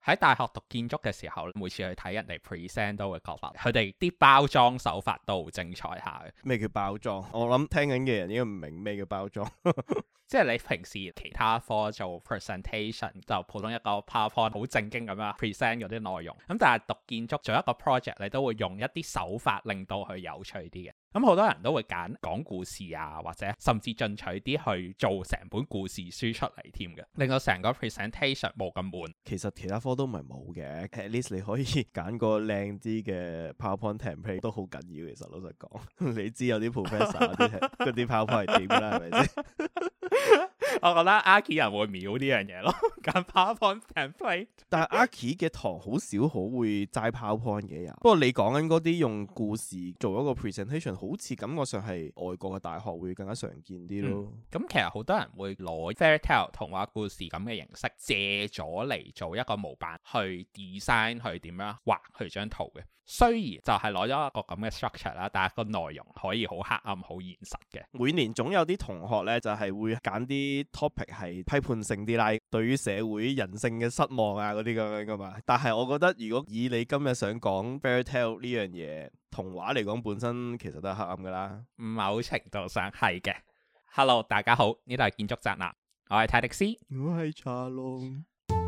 喺大學讀建築嘅時候，每次去睇人哋 present 都會覺得佢哋啲包裝手法都好精彩下嘅。 咩叫包裝？我諗聽緊嘅人應該唔明咩叫包裝。 即係你平時其他科做 presentation 就普通一個 PowerPoint 好正經咁樣 present 嗰啲內容，咁但係讀建築做一個 project 你都會用一啲手法令到佢有趣啲嘅。咁好多人都會揀講故事啊，或者甚至進取啲去做成本故事書出嚟添嘅，令到成個 presentation 冇咁悶。 其實其他科都唔係冇嘅 ，at least 你可以揀個靚啲嘅 PowerPoint template 都好緊要。其實老實講，你知有啲 professor 嗰啲 PowerPoint 係點㗎啦，係咪先？ 我覺得 Archi 人會秒呢樣嘢咯，揀 PowerPoint template。 但係 Archi 嘅堂好少好會齋 PowerPoint 嘅人。不過你講緊嗰啲用故事做一個 presentation，好似感覺上係外國嘅大學會更加常見啲咯。 咁其實好多人會攞 fairy tale 童話故事咁嘅形式借咗嚟做一個模板去 design 去點樣畫佢張圖嘅。雖然就係攞咗一個咁嘅 structure 啦，但係個內容可以好黑暗、好現實嘅。 每年總有啲同學咧就係會揀啲 topic 係批判性啲啦，對於社會人性嘅失望啊嗰啲咁樣噶嘛。但係我覺得如果以你今日想講 fairy tale 呢樣嘢，童話嚟講本身其實都係黑暗噶啦。 某程度上係嘅。Hello， 大家好，呢度係建築宅男，我係泰迪斯， 我係茶龍。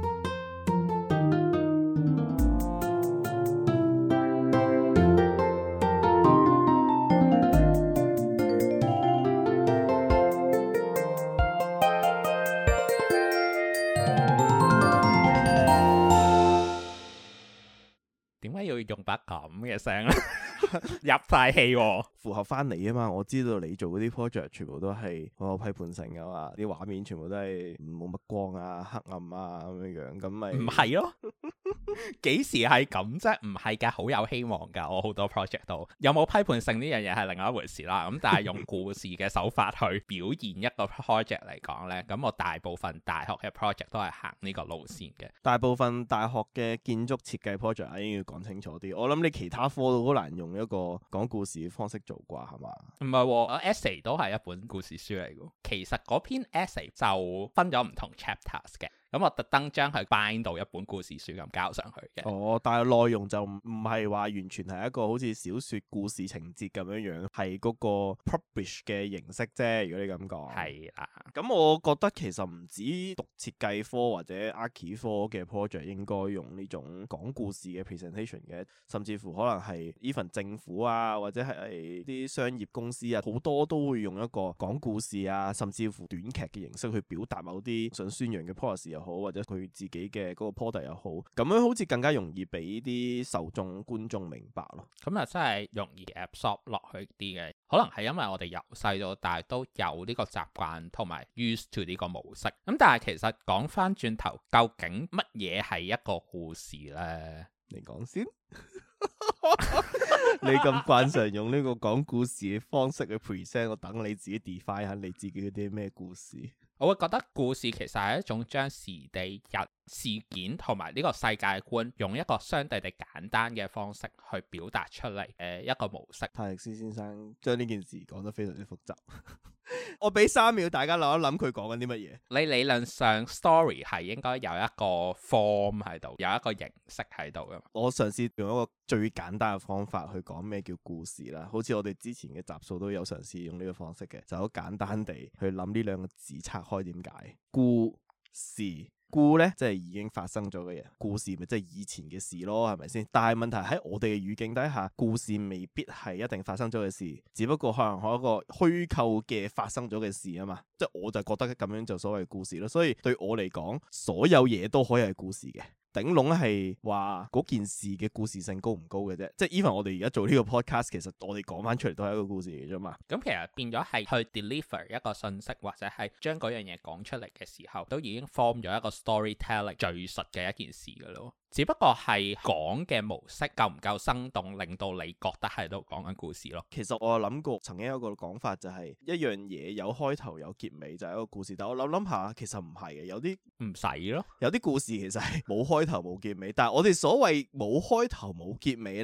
點解要用把咁嘅聲咧？入晒氣喎， 符合翻你啊嘛！我知道你做嗰啲 project 全部都係好有批判性噶嘛，啲畫面全部都係冇乜光啊、黑暗啊咁樣樣，咁咪唔係咯？幾時係咁啫？唔係㗎，好有希望㗎。我好多 project 都有冇批判性呢樣嘢係另外一回事啦。咁但係用故事嘅手法去表現一個 project 嚟講呢，咁我大部分大學嘅 project 都係行呢個路線嘅。 大部分大學嘅建築設計 project 應該要講清楚啲。我諗你其他科都好難用一個講故事嘅方式做啩，係嘛？ 唔係喎，essay 都係一本故事書嚟㗎。其實嗰篇 essay 就分咗唔同 chapters 嘅。咁我特登將佢 bind 到一本故事書咁交上去嘅。 哦，但係內容就唔係話完全係一個好似小説故事情節咁樣樣，係嗰個 publish 嘅形式啫。如果你咁講， 係啦。 咁我覺得其實唔止讀設計科或者 Archi 科嘅 project 應該用呢種講故事嘅 presentation 嘅，甚至乎可能係 even 政府啊，或者係啲商業公司啊，好多都會用一個講故事啊，甚至乎短劇嘅形式去表達某啲想宣揚嘅 policy 又好，或者佢自己嘅嗰個 product 又好，咁樣好似更加容易俾啲受眾觀眾明白咯。 咁啊真係容易 absorb 落去啲嘅，可能係因為我哋由細到大都有呢個習慣同埋 used to 呢個模式。咁但係其實講翻轉頭，究竟乜嘢係一個故事呢？ 你講先。你咁慣常用呢個講故事嘅方式去 present， 我等你自己 define 下你自己嗰啲咩故事。 我會覺得故事其實係一種將時地人事件同埋呢個世界觀用一個相對地簡單嘅方式去表達出嚟嘅一個模式。 泰迪斯先生將呢件事講得非常之複雜。我俾3秒大家諗一諗佢講緊啲乜嘢。 你理論上 story 係應該有一個 form 喺度，有一個形式喺度㗎嘛。 我嘗試用一個最簡單嘅方法去講咩叫故事啦，好似我哋之前嘅集數都有嘗試用呢個方式嘅，就好簡單地去諗呢兩個字拆開點解。故事，故呢即係已經發生咗嘅嘢，故事咪即係以前嘅事咯，係咪先？但係問題喺我哋嘅語境底下，故事未必係一定發生咗嘅事，只不過可能係一個虛構嘅發生咗嘅事啊嘛。即係我就覺得咁樣就所謂故事咯。所以對我嚟講，所有嘢都可以係故事嘅。頂籠係話嗰件事嘅故事性高唔高嘅啫，即係 even 我哋而家做呢個 podcast， 其實我哋講翻出嚟都係一個故事嚟啫嘛。 咁其實變咗係去 deliver 一個信息，或者係將嗰樣嘢講出嚟嘅時候，都已經 form 咗一個 storytelling 敘述嘅一件事噶咯。只不過係講嘅模式夠唔夠生動，令到你覺得喺度講緊故事咯。 其實我有諗過，曾經有一個講法就係一樣嘢有開頭有結尾就係一個故事，但我諗下其實唔係嘅，有啲唔使咯， 有啲故事其實係冇開頭冇結尾，但係我哋所謂冇開頭冇結尾呢，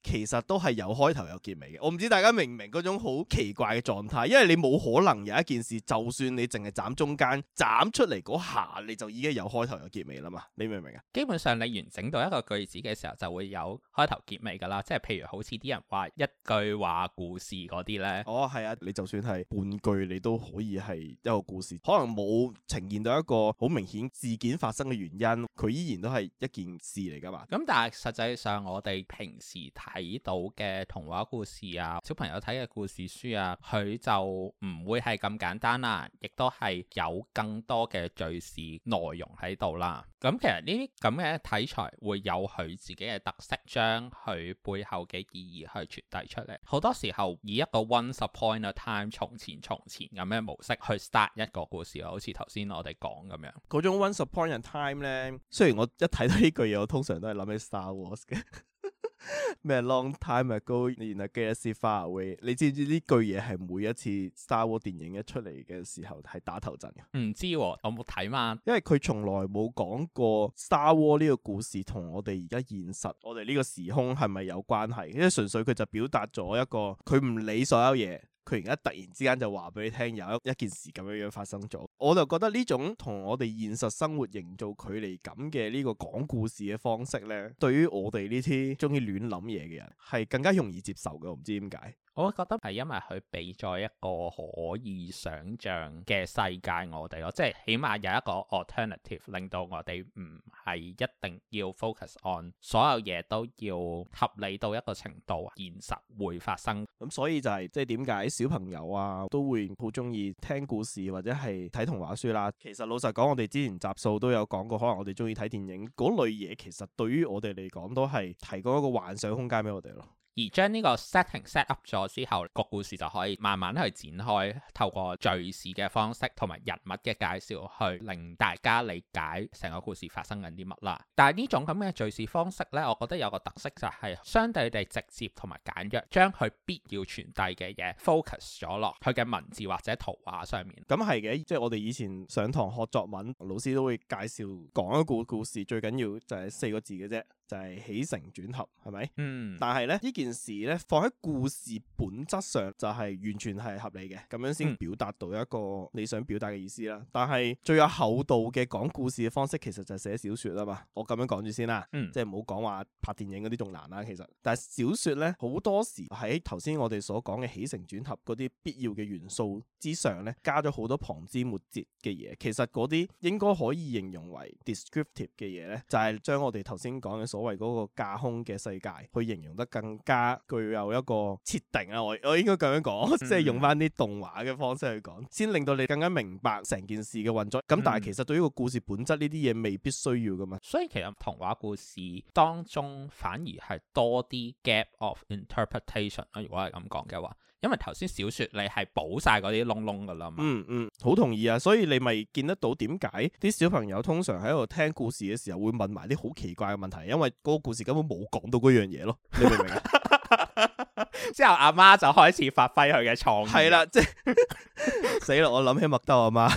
其實都係有開頭有結尾嘅。我唔知大家明唔明嗰種好奇怪嘅狀態，因為你冇可能有一件事，就算你淨係斬中間，斬出嚟嗰下你就已經有開頭有結尾啦嘛。你明唔明啊？ 基本上你完整到一個句子嘅時候就會有開頭結尾噶啦，即係譬如好似啲人話一句話故事嗰啲呢。 哦，係啊，你就算係半句你都可以係一個故事，可能冇呈現到一個好明顯事件發生嘅原因，佢依然都係一件事嚟噶嘛。 咁但係實際上我哋平時睇到嘅童話故事啊，小朋友睇嘅故事書啊，佢就唔會係咁簡單啦，亦都係有更多嘅敘事內容喺度啦。咁其實呢啲咁嘅題材會有佢自己嘅特色，將佢背後嘅意義去傳遞出嚟。好多時候以一個 Once Upon a Time 從前咁嘅模式去 start 一個故事，好似頭先我哋講咁樣。 嗰種 Once Upon a Time 呢，雖然我一睇到呢句嘢，我通常都係諗起 Star Wars 嘅。咩 Long time ago in a galaxy far away， 你知唔知呢句嘢係每一次 Star Wars 電影一出嚟嘅時候係打頭陣嘅？ 唔知我冇睇嘛， 因為佢從來冇講過 Star Wars 呢個故事同我哋而家現實我哋呢個時空係咪有關係，因為純粹佢就表達咗一個佢唔理所有嘢，佢而家突然之間就話俾你聽有一件事咁樣發生咗。我就覺得呢種同我哋現實生活營造距離感嘅呢個講故事嘅方式呢，對於我哋呢啲中意亂諗嘢嘅人係更加容易接受嘅。我唔知點解。 我覺得係因為佢俾咗一個可以想像嘅世界我哋咯，即係起碼有一個 alternative 令到我哋唔係一定要 focus on 所有嘢都要合理到一個程度，現實會發生。 咁所以就係即係點解小朋友啊都會好中意聽故事或者係睇童話書啦。其實老實講，我哋之前集數都有講過，可能我哋中意睇電影嗰類嘢，其實對於我哋嚟講都係提供一個幻想空間俾我哋咯。 而將呢個 setting set up 咗之後，個故事就可以慢慢去展開，透過敘事嘅方式同埋人物嘅介紹，去令大家理解成個故事發生緊啲乜啦。但係呢種咁嘅敘事方式呢，我覺得有個特色就係相對地直接同埋簡約，將佢必要傳遞嘅嘢 focus 咗落佢嘅文字或者圖畫上面。 咁係嘅，即係我哋以前上堂學作文，老師都會介紹講一個故事，最緊要就係4個字嘅啫。就係起承轉合，係咪？但係咧呢件事咧放喺故事本質上就係完全係合理嘅，咁樣先表達到一個你想表達嘅意思啦。但係最有厚度嘅講故事嘅方式，其實就係寫小說啊嘛。我咁樣講住先啦，即係唔好講話拍電影嗰啲仲難啦。其實，但係小說咧好多時喺頭先我哋所講嘅起承轉合嗰啲必要嘅元素之上咧，加咗好多旁枝末節嘅嘢。其實嗰啲應該可以形容為 descriptive 嘅嘢咧，就係將我哋頭先講嘅所謂嗰個架空嘅世界，去形容得更加具有一個設定啊！我應該咁樣講，即係用翻啲動畫嘅方式去講，先令到你更加明白成件事嘅運作。咁但係其實對於個故事本質呢啲嘢未必需要噶嘛。 所以其實童話故事當中反而係多啲 gap of interpretation 啦。如果係咁講嘅話，因為頭先小說你係補晒嗰啲窿窿噶啦嘛。 好同意啊！所以你咪見得到點解啲小朋友通常喺度聽故事嘅時候會問埋啲好奇怪嘅問題，因為嗰個故事根本冇講到嗰樣嘢咯。你明唔明啊？ 之後阿媽就開始發揮佢嘅創意。 係啦，即係死啦！我諗起麥兜阿媽，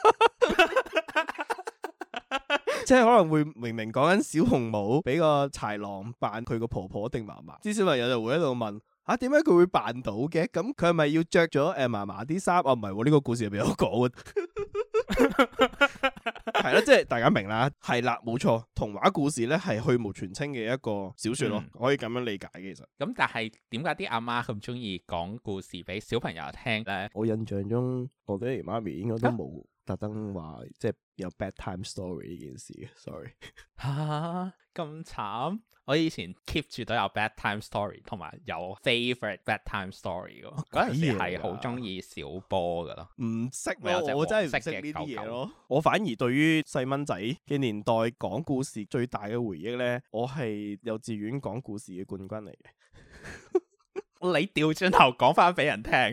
即係可能會明明講緊小紅帽俾個豺狼扮佢個婆婆定嫲嫲，啲小朋友就會喺度問。點解佢會扮到嘅？咁佢係咪要着咗嫲嫲啲衫？唔係喎，呢個故事入邊有講嘅。係啦，即係大家明啦。係啦，冇錯，童話故事咧係去蕪存菁嘅一個小說咯，可以咁樣理解嘅。其實咁， 但係點解啲阿媽咁中意講故事俾小朋友聽咧？ 我印象中我爹哋媽咪應該都冇特登話即係有 bedtime story 呢件事嘅。Sorry 吓，咁慘。我以前 keep 住都有 bedtime story 同埋有 favorite bedtime story 嘅，嗰陣時係好中意小波噶咯。唔識我真係唔識呢啲嘢咯。我反而對於細蚊仔嘅年代講故事最大嘅回憶咧，我係幼稚園講故事嘅冠軍嚟嘅。 你調轉頭講翻俾人聽，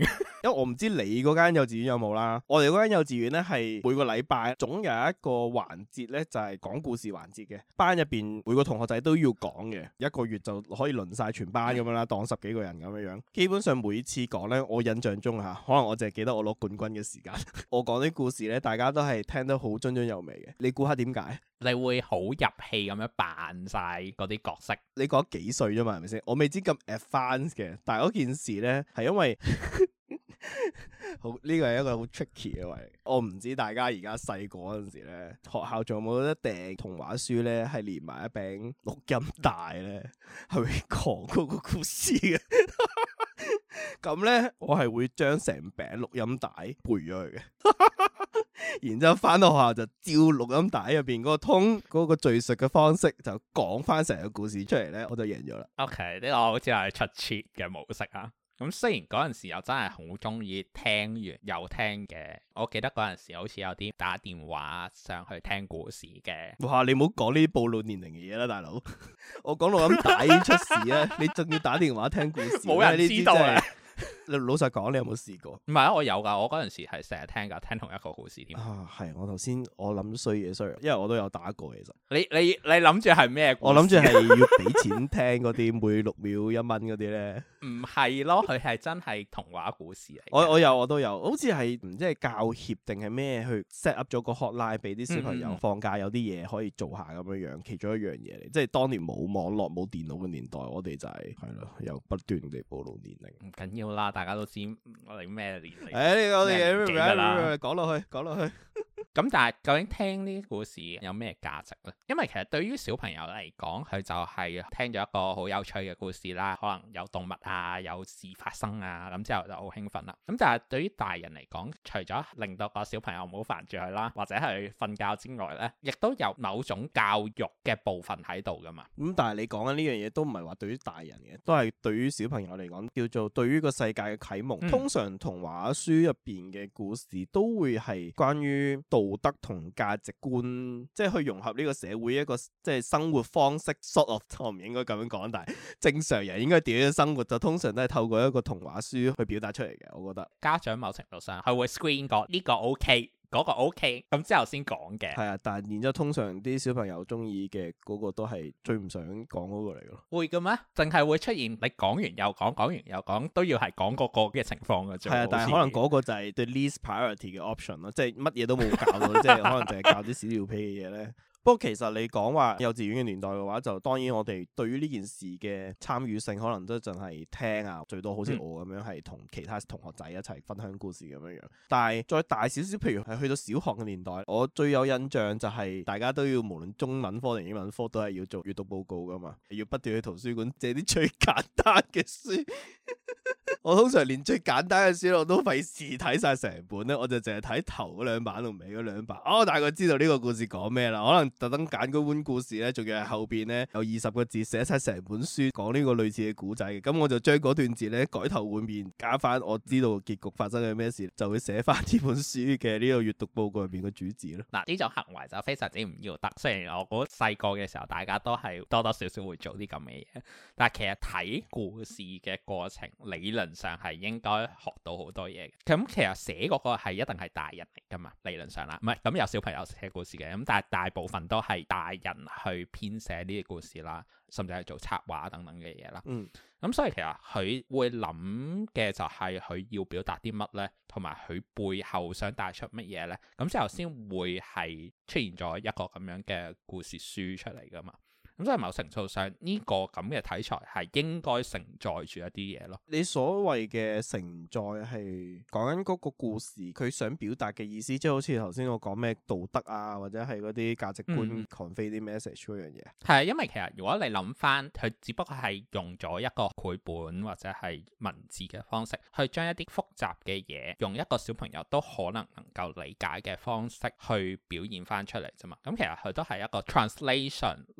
因為我唔知你嗰間幼稚園有冇啦。我哋嗰間幼稚園咧係每個禮拜總有一個環節咧就係講故事環節嘅，班入邊每個同學仔都要講嘅，一個月就可以輪晒全班咁樣啦，當10幾個人咁樣樣。基本上每次講咧，我印象中可能我淨係記得我攞冠軍嘅時間，我講啲故事咧，大家都係聽得好津津有味嘅。你估下點解？ 你會好入戲咁樣扮晒嗰啲角色？ 你講幾歲啫嘛？係咪先？我未知咁 advanced 嘅，但係嗰件事咧係因為好呢個係一個好 tricky 嘅位。我唔知大家而家細個嗰陣時咧，學校仲有冇得訂童話書咧？係連埋一餅錄音帶咧，係會講嗰個故事嘅。咁咧，我係會將成餅錄音帶背咗佢嘅。然之後翻到學校就照錄音帶入邊嗰個通嗰個敘述嘅方式就講翻成個故事出嚟咧，我就贏咗啦。 OK，呢個好似係出 cheat 嘅模式啊。咁雖然嗰陣時又真係好中意聽完又聽嘅，我記得嗰陣時好似有啲打電話上去聽故事嘅。 哇！你唔好講呢啲暴露年齡嘅嘢啦，大佬。我講錄音帶已經出事啦，你仲要打電話聽故事， 冇人知道啊！ 老實講，你有冇試過？ 唔係啊，我有噶，我嗰陣時係成日聽噶，聽同一個故事添。 啊，係我頭先我諗衰嘢衰，因為我都有打過其實。 你諗住係咩？ 我諗住係要俾錢聽嗰啲每6秒1蚊嗰啲咧。 唔係咯，佢係真係童話故事嚟。 我都有，好似係唔知係教協定係咩去 set up 咗個 hotline 俾啲小朋友放假有啲嘢可以做下咁樣樣，其中一樣嘢嚟。即係當年冇網絡冇電腦嘅年代，我哋就係咯，又不斷地暴露年齡。 唔緊要啦，大家都知我哋咩年齡。 我哋講落去。 咁但係究竟聽呢啲故事有咩價值呢？因為其實對於小朋友嚟講，佢就係聽咗一個好有趣嘅故事啦，可能有動物啊，有事發生啊，咁之後就好興奮啦。咁但係對於大人嚟講，除咗令到個小朋友唔好煩住佢啦，或者係瞓覺之外呢，亦都有某種教育嘅部分喺度噶嘛。 但係你講緊呢樣嘢都唔係話對於大人嘅，都係對於小朋友嚟講叫做對於個世界嘅啟蒙。通常童話書入邊嘅故事都會係關於道德同價值觀，即係去融合呢個社會一個即係生活方式 sort of， 我唔應該咁樣講，但係正常人應該點樣生活就通常都係透過一個童話書去表達出嚟嘅。我覺得家長某程度上係會 screen 過呢個 OK，嗰個 OK，咁之後先講嘅。 係啊，但係然之後通常啲小朋友中意嘅嗰個都係最唔想講嗰個嚟咯。 會嘅咩？淨係會出現你講完又講，講完又講，都要係講嗰個嘅情況嘅啫。 係啊，但係可能嗰個就係對 least priority 嘅 option 咯，即係乜嘢都冇教到，即係可能淨係教啲屎尿屁嘅嘢咧。不過其實你講話幼稚園嘅年代嘅話，就當然我哋對於呢件事嘅參與性可能都淨係聽啊，最多好似我咁樣係同其他同學仔一齊分享故事咁樣樣。但係再大少少，譬如係去到小學嘅年代，我最有印象就係大家都要無論中文科定英文科都係要做閱讀報告噶嘛，要不斷去圖書館借啲最簡單嘅書。我通常連最簡單嘅書我都費事睇晒成本咧，我就淨係睇頭嗰2版同尾嗰2版。我大概知道呢個故事講咩啦，可能特登揀嗰本故事咧，仲要係後邊咧有20個字寫晒成本書講呢個類似嘅古仔嘅，咁我就將嗰段字咧改頭換面，加翻我知道結局發生嘅咩事，就會寫翻呢本書嘅呢個閱讀報告入邊嘅主旨咯。 嗱，呢種行為就非常之唔要得。雖然我覺得細個嘅時候大家都係多多少少會做啲咁嘅嘢，但係其實睇故事嘅過程理論上係應該學到好多嘢嘅。咁其實寫嗰個係一定係大人嚟噶嘛，理論上啦，唔係咁有小朋友寫故事嘅，咁但係大部分都係大人去編寫呢啲故事啦，甚至係做插畫等等嘅嘢啦。咁所以其實佢會諗嘅就係佢要表達啲乜呢，同埋佢背後想帶出乜嘢呢，咁之後先會係出現咗一個咁樣嘅故事書出嚟噶嘛。咁所以某程度上呢個咁嘅題材係應該承載住一啲嘢咯。你所謂嘅承載係講緊嗰個故事佢想表達嘅意思，即係好似頭先我講咩道德啊，或者係嗰啲價值觀 convey 啲 message 嗰樣嘢。係因為其實如果你諗翻，佢只不過係用咗一個繪本或者係文字嘅方式，去將一啲複雜嘅嘢用一個小朋友都可能夠理解嘅方式去表現翻出嚟啫嘛。咁其實佢都係一個 translation，令到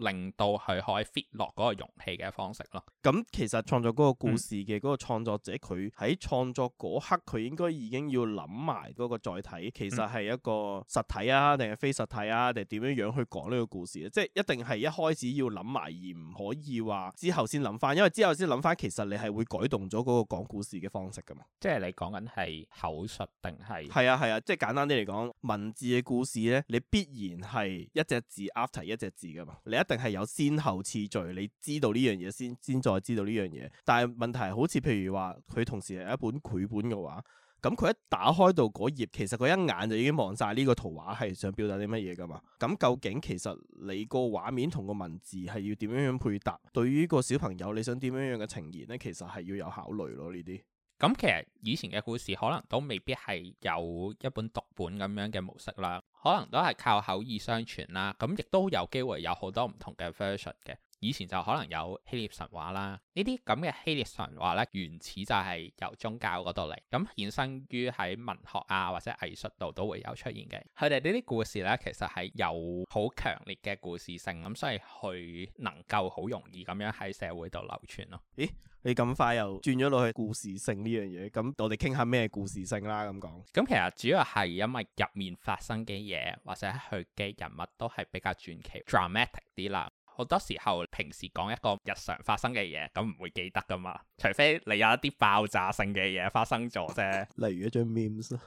到佢可以 fit 落嗰個容器嘅方式咯。 咁其實創作嗰個故事嘅嗰個創作者，佢喺創作嗰刻，佢應該已經要諗埋嗰個載體，其實係一個實體啊，定係非實體啊，定係點樣樣去講呢個故事？即係一定係一開始要諗埋，而唔可以話之後先諗翻，因為之後先諗翻，其實你係會改動咗嗰個講故事嘅方式噶嘛。 即係你講緊係口述定係？ 係啊，即係簡單啲嚟講，文字嘅故事咧，你必然係一隻字 after 一隻字噶嘛，你一定係有先後次序，你知道呢樣嘢先再知道呢樣嘢。但係問題係好似譬如話，佢同時係一本繪本嘅話，咁佢一打開到嗰頁，其實佢一眼就已經望晒呢個圖畫係想表達啲乜嘢噶嘛。咁究竟其實你個畫面同個文字係要點樣樣配搭？對於個小朋友你想點樣樣嘅呈現呢？其實係要有考慮咯呢啲。 咁其實以前嘅故事可能都未必係有一本讀本咁樣嘅模式啦，可能都係靠口耳相傳啦。咁亦都有機會有好多唔同嘅 version 嘅。以前就可能有希臘神話啦，呢啲咁嘅希臘神話咧，原始就係由宗教嗰度嚟，咁衍生於喺文學啊或者藝術度都會有出現嘅。佢哋呢啲故事咧，其實係有好強烈嘅故事性，咁所以佢能夠好容易咁樣喺社會度流傳咯。 咦？你咁快又轉咗落去故事性呢樣嘢，咁我哋傾下咩故事性啦咁講。 咁其實主要係因為入面發生嘅嘢或者佢嘅人物都係比較傳奇 dramatic 啲啦。好多時候平時講一個日常發生嘅嘢，咁唔會記得噶嘛，除非你有一啲爆炸性嘅嘢發生咗啫。 例如一張 memes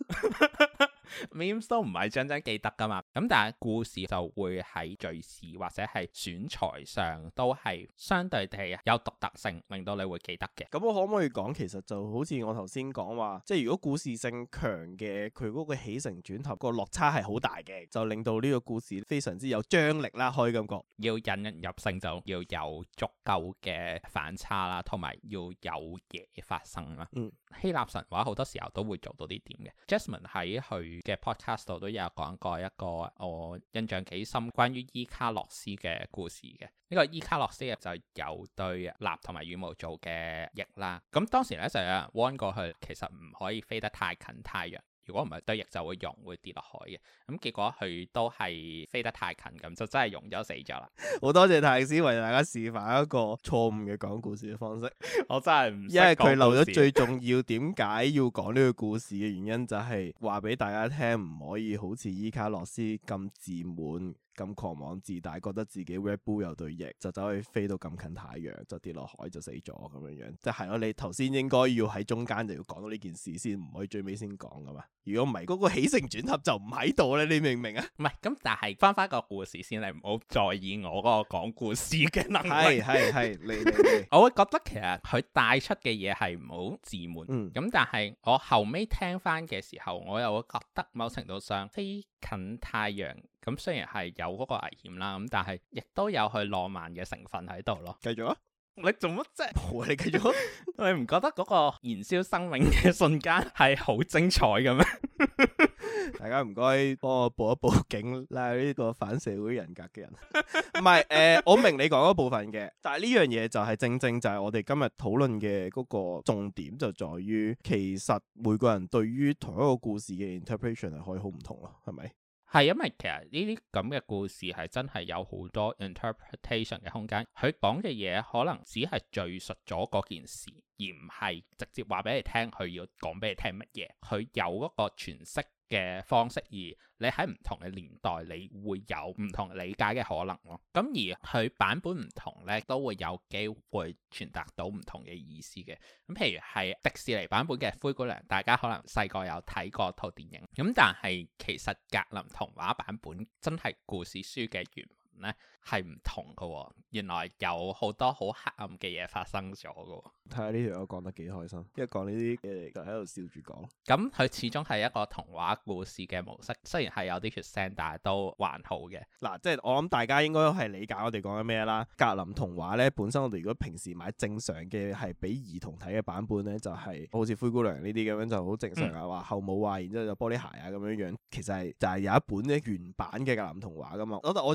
memes 都唔係張張記得噶嘛，咁但係故事就會喺敘事或者係選材上都係相對地有獨特性，令到你會記得嘅。 咁我可唔可以講，其實就好似我頭先講話，即係如果故事性強嘅，佢嗰個起承轉合個落差係好大嘅，就令到呢個故事非常之有張力啦，可以咁講。 要引人入勝就要有足夠嘅反差啦，同埋要有嘢發生啦。希臘神話好多時候都會做到啲點嘅。Jasmine 喺佢嘅 podcast 度都有講過一個我印象幾深關於伊卡洛斯嘅故事嘅。呢個伊卡洛斯就有對蠟同埋羽毛做嘅翼啦。咁當時咧就有人 warn 過佢，其實唔可以飛得太近太陽。如果唔係對翼就會溶，會跌落海嘅。咁結果佢都係飛得太近，咁就真係溶咗死咗啦。 好多謝泰斯為大家示範一個錯誤嘅講故事嘅方式。 我真係唔識講故事， 因為佢漏咗最重要，點解要講呢個故事嘅原因就係話俾大家聽，唔可以好似伊卡洛斯咁自滿、咁狂妄自大，覺得自己 Red Bull 有對翼，就走去飛到咁近太陽，就跌落海就死咗咁樣樣。即係咯，你頭先應該要喺中間就要講到呢件事先，唔可以最尾先講噶嘛。如果唔係，嗰個起承轉合就唔喺度咧，你明唔明啊？ 唔係咁，但係翻個故事先，你唔好在意我嗰個講故事嘅能力。 係，你我會覺得其實佢帶出嘅嘢係唔好自滿。咁但係我後尾聽翻嘅時候，我又會覺得某程度上飛近太陽咁，雖然係有嗰個危險啦，咁但係亦都有佢浪漫嘅成分喺度咯。 繼續啊！ 你做乜啫？ 你繼續， 你唔覺得嗰個燃燒生命嘅瞬間係好精彩嘅咩？ 大家唔該幫我報一報警，拉呢個反社會人格嘅人。唔係我明你講嗰部分嘅，但係呢樣嘢就係正正就係我哋今日討論嘅嗰個重點，就在於其實每個人對於同一個故事嘅 interpretation 係可以好唔同咯，係咪？係因為其實呢啲咁嘅故事係真係有好多 interpretation 嘅空間，佢講嘅嘢可能只係敘述咗嗰件事，而唔係直接話俾你聽佢要講俾你聽乜嘢。佢有嗰個詮釋嘅方式，而你喺唔同嘅年代，你會有唔同理解嘅可能咯。咁而佢版本唔同呢，都會有機會傳達到唔同嘅意思嘅。咁譬如係迪士尼版本嘅灰姑娘，大家可能細個有睇過套電影，咁但係其實格林童話版本真係故事書嘅原文呢係唔同㗎喎。原來有好多好黑暗嘅嘢發生咗㗎喎。 睇下呢條友講得幾開心，因為講呢啲嘢就喺度笑住講。 咁佢始終係一個童話故事嘅模式，雖然係有啲血腥，但係都還好嘅。 嗱，即係我諗大家應該都係理解我哋講緊咩啦。格林童話咧，本身我哋如果平時買正常嘅係俾兒童睇嘅版本咧，就係好似灰姑娘呢啲咁樣就好正常啊，話後母啊，然之後就玻璃鞋啊咁樣樣。其實係就係有一本咧原版嘅格林童話噶嘛。我就有啲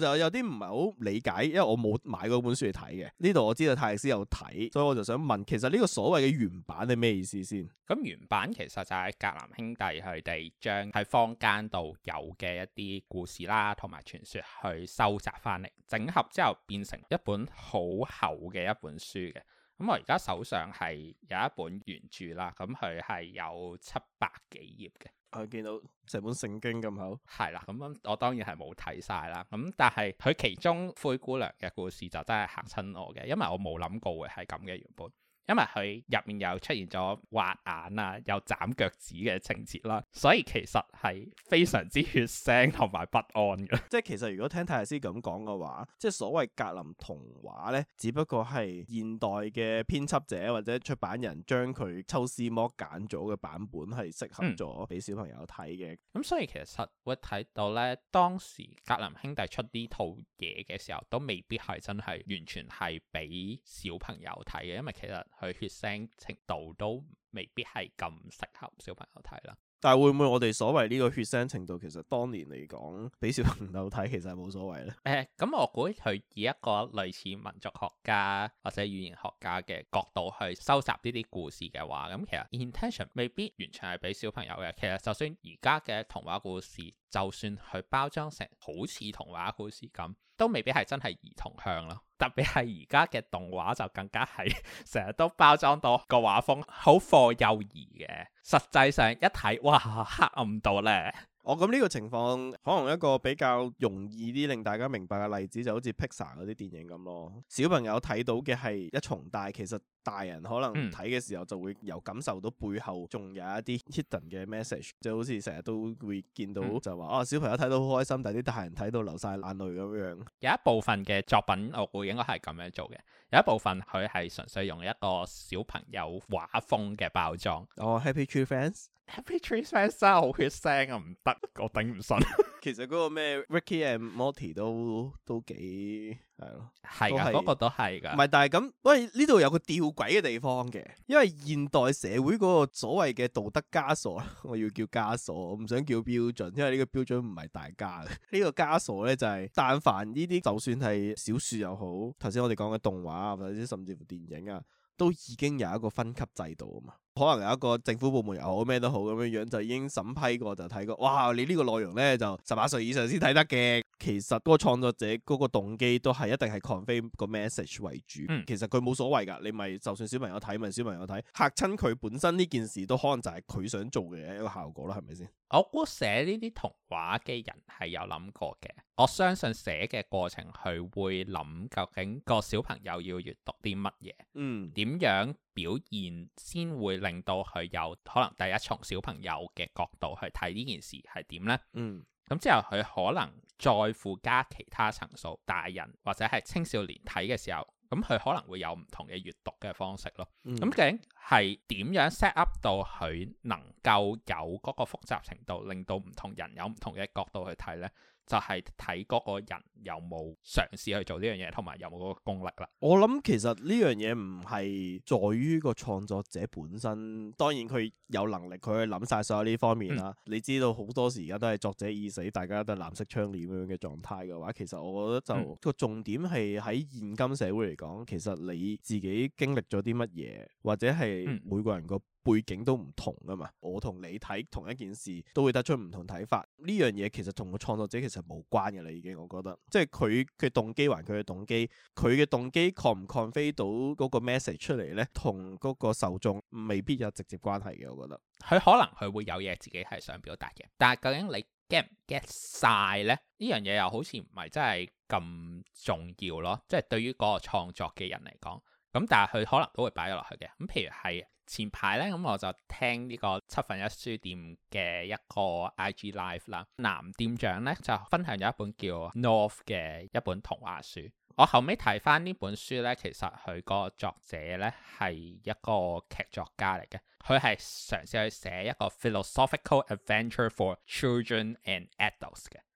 唔係好理解，因為我冇買嗰本書嚟睇嘅。呢度我知道泰迪斯有睇，所以我就想問，其實呢個所謂嘅原版係咩意思先？ 咁原版其實就係格林兄弟佢哋將喺坊間度有嘅一啲故事啦，同埋傳說去收集翻嚟，整合之後變成一本好厚嘅一本書嘅。咁我而家手上係有一本原著啦，咁佢係有700幾頁嘅。 我見到成本聖經咁厚。 係啦，咁我當然係冇睇晒啦。咁但係佢其中灰姑娘嘅故事就真係嚇親我嘅，因為我冇諗過會係咁嘅原本。因為佢入面又出現咗挖眼啊，又斬腳趾嘅情節啦，所以其實係非常之血腥同埋不安嘅。 即係其實如果聽泰迪斯咁講嘅話，即係所謂格林童話呢，只不過係現代嘅編輯者或者出版人將佢抽絲剝繭咗嘅版本係適合咗俾小朋友睇嘅。 咁所以其實會睇到呢，當時格林兄弟出呢套嘢嘅時候，都未必係真係完全係俾小朋友睇嘅，因為其實佢血腥程度都未必係咁適合小朋友睇啦。 但係會唔會我哋所謂呢個血腥程度，其實當年嚟講俾小朋友睇，其實係冇所謂呢？ 咁我估佢以一個類似民族學家或者語言學家嘅角度去收集呢啲故事嘅話，咁其實 intention 未必完全係俾小朋友嘅。其實就算而家嘅童話故事，就算佢包裝成好似童話故事咁，都未必係真係兒童向咯。特別係而家嘅動畫就更加係成日都包裝到個畫風好課幼兒嘅，實際上一睇哇黑暗到咧。 咁呢個情況可能一個比較容易啲令大家明白嘅例子，就好似 Pixar 嗰啲電影咁咯。小朋友睇到嘅係一重，但係其實大人可能睇嘅時候就會有感受到背後仲有一啲 hidden 嘅 message，就好似成日都會見到就話小朋友睇到好開心，但係啲大人睇到流晒眼淚咁樣。有一部分嘅作品我估應該係咁樣做嘅，有一部分佢係純粹用一個小朋友畫風嘅包裝。 Happy Tree Friends。Happy Tree Friends 真係好血腥啊，唔得，我頂唔順。 其實嗰個咩 Ricky and Morty 都幾係咯， 係噶，嗰個都係噶。 唔係，但係咁，喂，呢度有個吊詭嘅地方嘅，因為現代社會嗰個所謂嘅道德枷鎖，我要叫枷鎖，我唔想叫標準，因為呢個標準唔係大家嘅。呢個枷鎖咧就係，但凡呢啲就算係小說又好，頭先我哋講嘅動畫啊，或者甚至乎電影啊，都已經有一個分級制度啊嘛。可能有一個政府部門又好咩都好咁樣樣，就已經審批過就睇過，哇！你呢個內容呢，就18歲以上先睇得嘅。其實嗰個創作者嗰個動機都係一定係 convey 個 message 為主。其實佢冇所謂㗎，你咪就算小朋友睇咪小朋友睇，嚇親佢本身呢件事都可能就係佢想做嘅一個效果啦，係咪先？ 我估寫呢啲童話嘅人係有諗過嘅，我相信寫嘅過程佢會諗究竟個小朋友要閱讀啲乜嘢，點樣表現先會令到佢有可能第一從小朋友嘅角度去睇呢件事係點呢？咁之後佢可能再附加其他層數，大人或者係青少年睇嘅時候，咁佢可能會有唔同嘅閱讀嘅方式咯。咁究竟係點樣 set up 到佢能夠有嗰個複雜程度，令到唔同人有唔同嘅角度去睇呢？就係睇嗰個人有冇嘗試去做呢樣嘢，同埋有冇嗰個功力啦。 我諗其實呢樣嘢唔係在於個創作者本身，當然佢有能力佢去諗晒所有呢方面啦。你知道好多時而家都係作者已死，大家都係藍色窗簾咁樣嘅狀態嘅話，其實我覺得就個重點係喺現今社會嚟講，其實你自己經歷咗啲乜嘢，或者係每個人個背景都唔同啊嘛。我同你睇同一件事都會得出唔同睇法，呢樣嘢其實同個創作者其實無關嘅啦，已經我覺得，即係佢嘅動機還佢嘅動機，佢嘅動機 convey 到嗰個 message 出嚟呢，同嗰個受眾未必有直接關係嘅，我覺得。 佢可能佢會有嘢自己係想表達嘅，但係究竟你 get 唔 get 晒呢？呢樣嘢又好似唔係真係咁重要咯，即係對於嗰個創作嘅人嚟講，咁但係佢可能都會擺咗落去嘅。咁譬如係前排咧，咁我就聽呢個七分一書店嘅一個 IG Live 啦，男店長咧就分享咗一本叫 North 嘅一本童話書。我後尾睇翻呢本書咧，其實佢個作者咧係一個劇作家嚟嘅，佢係嘗試去寫一個 philosophical adventure for children and adults 嘅。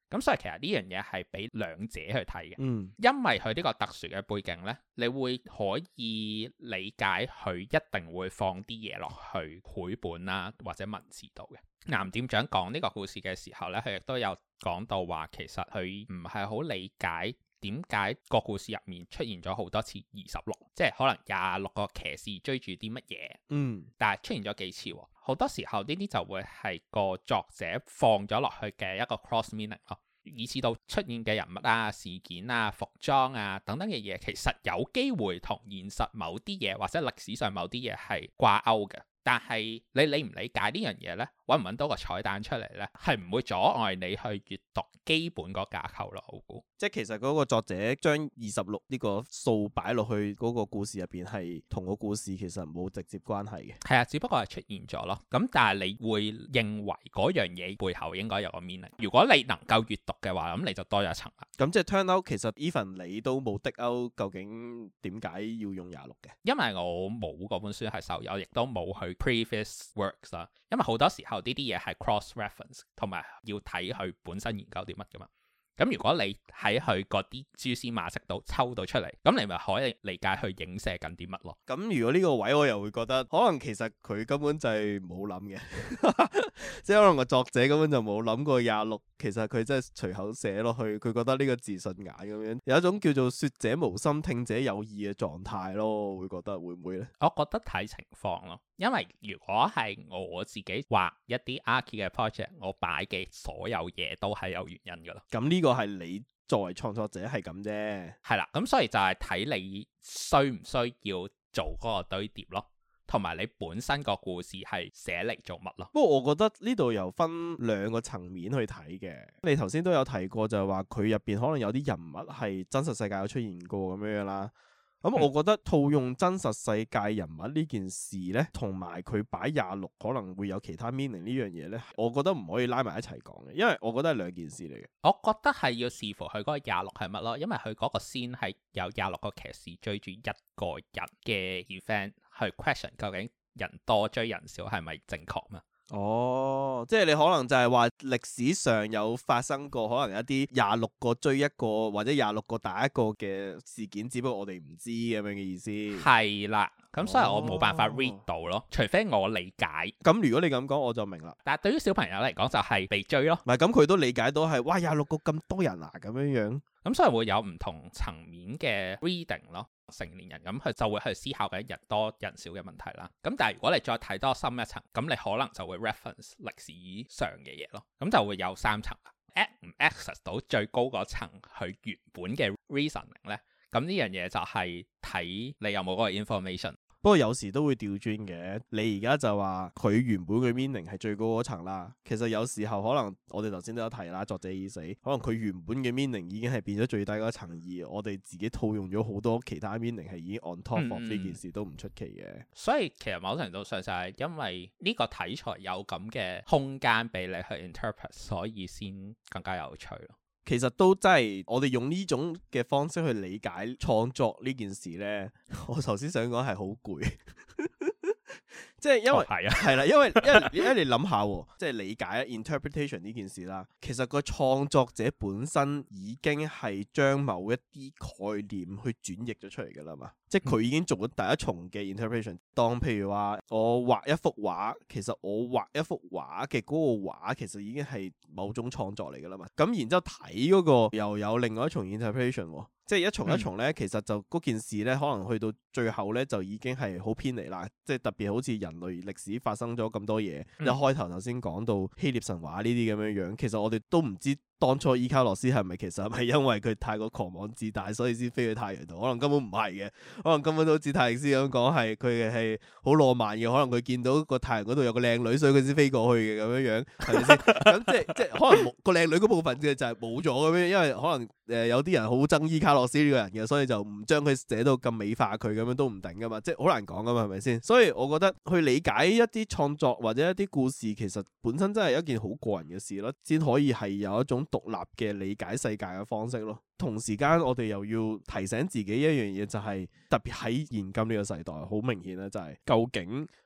咁所以其實呢樣嘢係俾兩者去睇嘅， 因為佢呢個特殊嘅背景呢，你會可以理解佢一定會放啲嘢落去繪本啦或者文字度嘅。岩店長講呢個故事嘅時候呢，佢亦都有講到話，其實佢唔係好理解點解個故事入面出現咗好多次26，即係可能26個騎士追住啲乜嘢，但係出現咗幾次喎。好多時候呢啲就會係個作者放咗落去嘅一個 cross meaning 咯，以至到出現嘅人物啊、事件啊、服裝啊等等嘅嘢，其實有機會同現實某啲嘢或者歷史上某啲嘢係掛鈎嘅。但係你理唔理解呢樣嘢呢？揾唔揾到個彩蛋出嚟呢？係唔會阻礙你去閱讀基本個架構咯。我估即係其實嗰個作者將26呢個數擺落去嗰個故事入邊，係同個故事其實冇直接關係嘅。 係啊，只不過係出現咗咯。咁但係你會認為嗰樣嘢背後應該有個 meaning。如果你能夠閱讀嘅話，咁你就多咗一層啦。 咁即係 turn out 其實 even 你都冇的勾，究竟點解要用26嘅？ 因為我冇嗰本書係手有，亦都冇去 previous works 啦。因為好多時候呢啲嘢係 cross reference，同埋要睇佢本身研究啲乜噶嘛。咁如果你喺佢嗰啲蛛絲馬跡度抽到出嚟，咁你咪可以理解佢影射緊啲乜咯。 咁如果呢個位我又會覺得，可能其實佢根本就係冇諗嘅，即係可能個作者根本就冇諗過26，其實佢真係隨口寫落去，佢覺得呢個字順眼咁樣，有一種叫做說者無心，聽者有意嘅狀態咯。我會覺得會唔會呢？ 我覺得睇情況咯，因為如果係我自己畫一啲 Archi 嘅 project， 我擺嘅所有嘢都係有原因噶啦。 咁呢個係你作為創作者係咁啫， 係啦，咁所以就係睇你需唔需要做嗰個堆疊咯，同埋你本身個故事係寫嚟做乜咯。 不過我覺得呢度又分兩個層面去睇嘅。你頭先都有提過就係話佢入邊可能有啲人物係真實世界有出現過咁樣啦。咁我覺得套用真實世界人物呢件事呢，同埋佢擺26可能會有其他 meaning 呢樣嘢呢，我覺得唔可以拉埋一齊講嘅，因為我覺得係兩件事嚟嘅。 我覺得係要視乎佢嗰個26係乜咯，因為佢嗰個先係有26個騎士追住一個人嘅 event 去 question 究竟人多追人少係咪正確嘛？ 哦，即係你可能就係話歷史上有發生過可能一啲26個追一個或者26個打一個嘅事件，只不過我哋唔知咁樣嘅意思。 係啦，咁所以我冇辦法 read 到咯，除非我理解。 咁如果你咁講，我就明啦。 但係對於小朋友嚟講就係被追咯。 唔係，咁佢都理解到係哇26個咁多人啊咁樣樣。 咁所以會有唔同層面嘅 reading 咯。成年人咁佢就會去思考緊人多人少嘅問題啦。咁但係如果你再睇多深一層，咁你可能就會 reference 歷史上嘅嘢咯。咁就會有3層啦。唔 access 到最高嗰層佢原本嘅 reasoning 咧，咁呢樣嘢就係睇你有冇嗰個 information。 不過有時都會調轉嘅，你而家就話佢原本嘅 meaning 係最高嗰層啦。其實有時候可能我哋頭先都有提啦，作者已死，可能佢原本嘅 meaning 已經係變咗最低嗰層，而我哋自己套用咗好多其他 meaning 係已經 on top of 呢件事都唔出奇嘅。 所以其實某程度上就係因為呢個題材有咁嘅空間俾你去 interpret， 所以先更加有趣咯。 其實都真係我哋用呢種嘅方式去理解創作呢件事呢，我頭先想講係好攰。即係因為係啦，因為你諗下，即係理解 interpretation 呢件事啦。其實個創作者本身已經係將某一啲概念去轉譯咗出嚟噶啦嘛。即係佢已經做咗第一重嘅 interpretation。當譬如話我畫一幅畫，其實我畫一幅畫嘅嗰個畫其實已經係某種創作嚟噶啦嘛。咁然之後睇嗰個又有另外一重 interpretation。即係一重一重咧，其實就嗰件事咧，可能去到最後咧，就已經係好偏離啦。即係特別好似人類歷史發生咗咁多嘢，一開頭先講到希臘神話呢啲咁樣樣，其實我哋都唔知當初伊卡洛斯係咪其實係咪因為佢太過狂妄自大，所以先飛去太陽度？可能根本唔係嘅，可能根本都好似泰勒斯咁講，係佢係好浪漫嘅。可能佢見到個太陽嗰度有個靚女，所以佢先飛過去嘅咁樣樣，係咪先？咁即係可能個靚女嗰部分嘅就係冇咗咁樣，因為可能有啲人好憎伊卡洛斯呢個人嘅，所以就唔將佢寫到咁美化佢咁樣都唔定噶嘛，即係好難講噶嘛，係咪先？所以我覺得去理解一啲創作或者一啲故事，其實本身真係一件好個人嘅事咯，先可以係有一種獨立嘅理解世界嘅方式咯。同時間我哋又要提醒自己一樣嘢，就係特別喺現今呢個世代，好明顯咧，就係究竟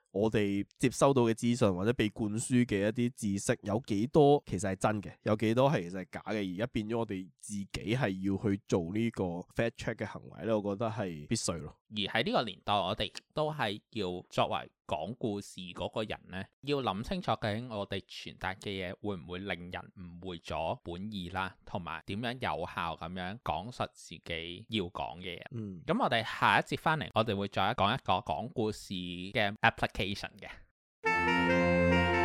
我哋接收到嘅資訊或者被灌輸嘅一啲知識有幾多其實係真嘅，有幾多係其實係假嘅，而家變咗我哋自己係要去做呢個 fact check 嘅行為咧，我覺得係必須咯。 而喺呢個年代，我哋都係要作為講故事嗰個人呢，要諗清楚究竟我哋傳達嘅嘢會唔會令人誤會咗本意啦，同埋點樣有效咁樣講述自己要講嘅嘢。咁我哋下一節翻嚟，我哋會再講一個講故事嘅 application 嘅。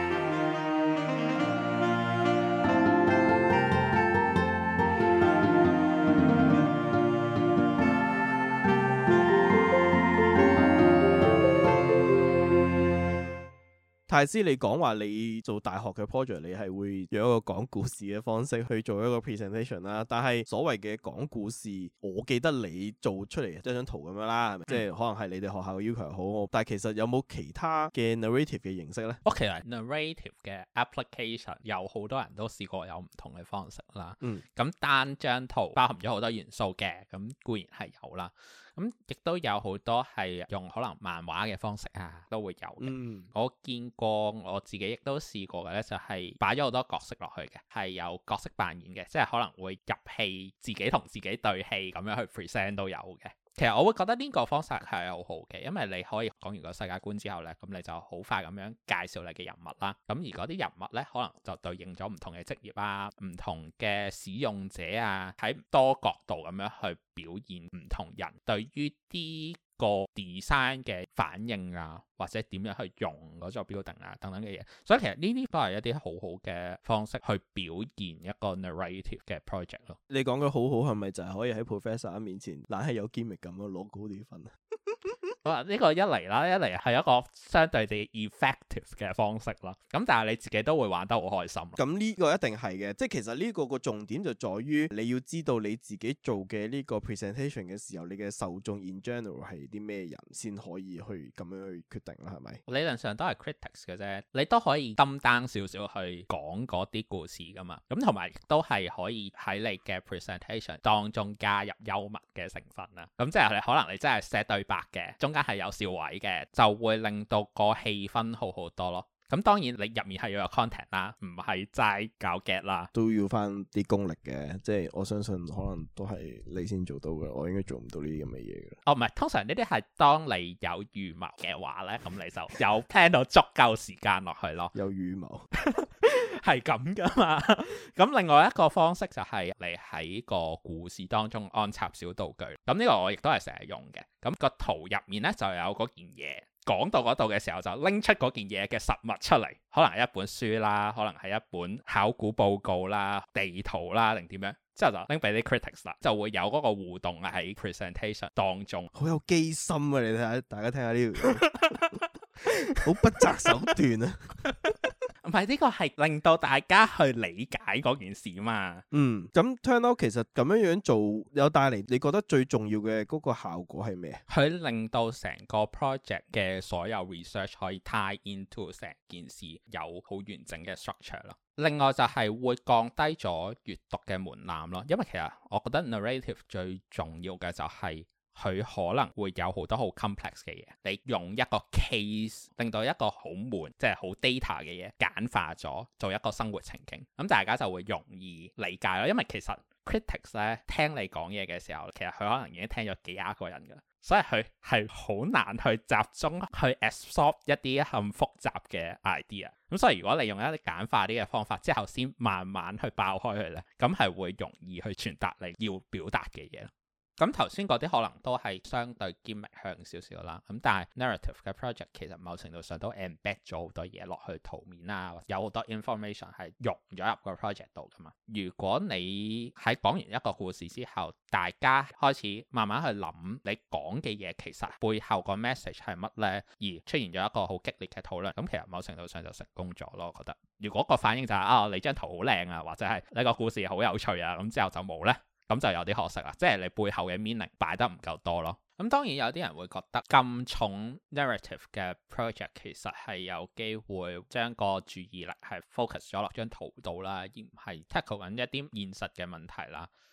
泰斯，你講話你做大學嘅 project， 你係會用一個講故事嘅方式去做一個 presentation 啦。但係所謂嘅講故事，我記得你做出嚟張圖咁樣啦，即係可能係你哋學校嘅要求好。但係其實有冇其他嘅 narrative 嘅形式呢？ 其實 narrative 嘅 application 有好多人都試過有唔同嘅方式啦。咁單張圖包含咗好多元素嘅，咁固然係有啦。咁亦都有好多係用可能漫畫嘅方式啊，都會有嘅。我見過，我自己亦都試過嘅咧，就係擺咗好多角色落去嘅，係有角色扮演嘅，即係可能會入戲，自己同自己對戲咁樣去 present 都有嘅。其實我會覺得呢個方式係好好嘅，因為你可以講完個世界觀之後呢，咁你就好快咁樣介紹你嘅人物啦。咁而嗰啲人物呢，可能就對應咗唔同嘅職業啊、唔同嘅使用者啊，喺多角度咁樣去表現唔同人對於啲個 design 嘅反應啊，或者點樣去用嗰個 building 啊等等嘅嘢，所以其實呢啲都係一啲好好嘅方式去表現一個 narrative 嘅 project 咯。 你講嘅好好係咪就係可以喺 professor 面前懶係有 gimmick 咁咯，攞高啲分啊？ 呢個一嚟啦，一嚟係一個相對地 effective 嘅方式啦。咁但係你自己都會玩得好開心。 咁呢個一定係嘅，即係其實呢個個重點就在於你要知道你自己做嘅呢個 presentation 嘅時候，你嘅受眾 in general 係啲咩人先可以去咁樣去決定啦，係咪？理論上都係 critics 嘅啫，你都可以dumb down少少去講嗰啲故事噶嘛。咁同埋亦都係可以喺你嘅 presentation 當中加入幽默嘅成分啦。咁即係你可能你真係寫對白嘅，中間係有笑位嘅，就會令到個氣氛好好多咯。咁當然你入面係要有 content 啦，唔係齋搞 get 啦， 都要翻啲功力嘅。即係我相信可能都係你先做到嘅，我應該做唔到呢啲咁嘅嘢嘅。 唔係，通常呢啲係當你有預謀嘅話咧，咁你就有 plan 到足夠時間落去咯。 有預謀係咁噶嘛？咁另外一個方式就係你喺個故事當中安插小道具。咁呢個我亦都係成日用嘅。咁個圖入面咧就有嗰件嘢。講到嗰度嘅時候，就拎出嗰件嘢嘅實物出嚟，可能係一本書啦，可能係一本考古報告啦、地圖啦，定點樣，之後就拎俾啲 critics 啦，就會有嗰個互動喺 presentation 當中。 好有機心啊！你睇下，大家聽下呢條，好不擇手段啊！ 唔係，呢個係令到大家去理解嗰件事嘛。 咁 turn out 其實咁樣做有帶嚟，你覺得最重要嘅嗰個效果係咩？佢令到成個 project 嘅所有 research 可以 tie into 成件事，有好完整嘅 structure 咯。另外就係會降低咗閱讀嘅門檻咯，因為其實我覺得 narrative 最重要嘅就係佢可能會有好多好 complex 嘅嘢，你用一個 case 令到一個好悶，即係好 data 嘅嘢簡化咗，做一個生活情景，咁大家就會容易理解咯。因為其實 critics 咧聽你講嘢嘅時候，其實佢可能已經聽咗幾廿個人㗎，所以佢係好難去集中去 absorb 一啲咁複雜嘅 idea。咁所以如果你用一啲簡化啲嘅方法之後，先慢慢去爆開佢咧，咁係會容易去傳達你要表達嘅嘢。咁頭先嗰啲可能都係相對 gimmick 向少少啦，咁但係 narrative 嘅 project 其實某程度上都 embed 咗好多嘢落去圖面啦，有好多 information 係融咗入個 project 度噶嘛。如果你喺講完一個故事之後，大家開始慢慢去諗你講嘅嘢其實背後個 message 係乜呢？而出現咗一個好激烈嘅討論，咁其實某程度上就成功咗咯。我覺得如果個反應就係你張圖好靚啊，或者係你個故事好有趣啊，咁之後就冇呢。咁就有啲可惜啦，即係你背後嘅 meaning 擺得唔夠多咯。咁當然有啲人會覺得咁重 narrative 嘅 project 其實係有機會將個注意力係 focus 咗落張圖度啦，而唔係 tackle 緊一啲現實嘅問題啦。